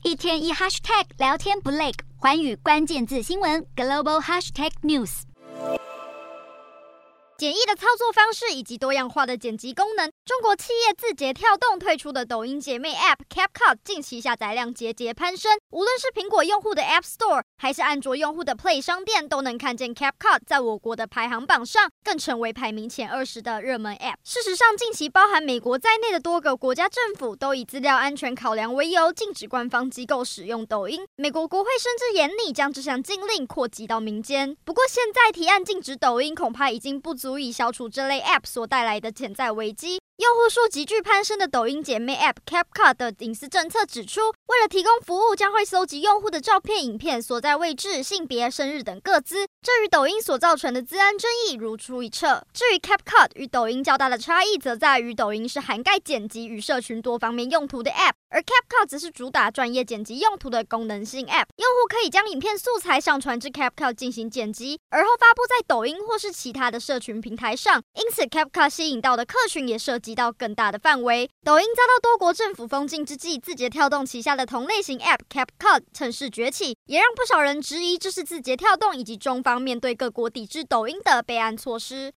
一天一 hashtag 聊天不累，寰宇關鍵字新聞 Global Hashtag News。簡易的操作方式以及多樣化的剪輯功能，中國企業字節跳動推出的抖音姐妹 App CapCut 近期下載量節節攀升，無論是蘋果用戶的 App Store， 還是安卓用戶的 Play 商店，都能看見 CapCut 在我國的排行榜上，更成為排名前20的熱門 App。事實上，近期包含美國在內的多個國家政府都以資料安全考量為由，禁止官方機構使用抖音。美國國會甚至嚴厲將這項禁令擴及到民間。不過，現在提案禁止抖音，恐怕已經不足以消除這類 App 所帶來的潛在危機。用戶數急劇攀升的抖音姐妹 App CapCut 的隱私政策指出，為了提供服務，將會蒐集用戶的照片、影片、所在位置、性別、生日等個資，這與抖音所造成的資安爭議如出一轍。至於 CapCut 與抖音較大的差異，則在於抖音是涵蓋剪輯與社群多方面用途的 App， 而 CapCut 則是主打專業剪輯用途的功能性 App。用戶可以將影片素材上傳至 CapCut 進行剪輯，而後發布在抖音或是其他的社群平台上。因此 CapCut 吸引到的客群也涉及到更大的範圍。抖音遭到多國政府封禁之際，字節跳動旗下的同類型 App CapCut 趁勢崛起，也讓不少人質疑這是字節跳動以及中方面對各國抵制抖音的備案措施。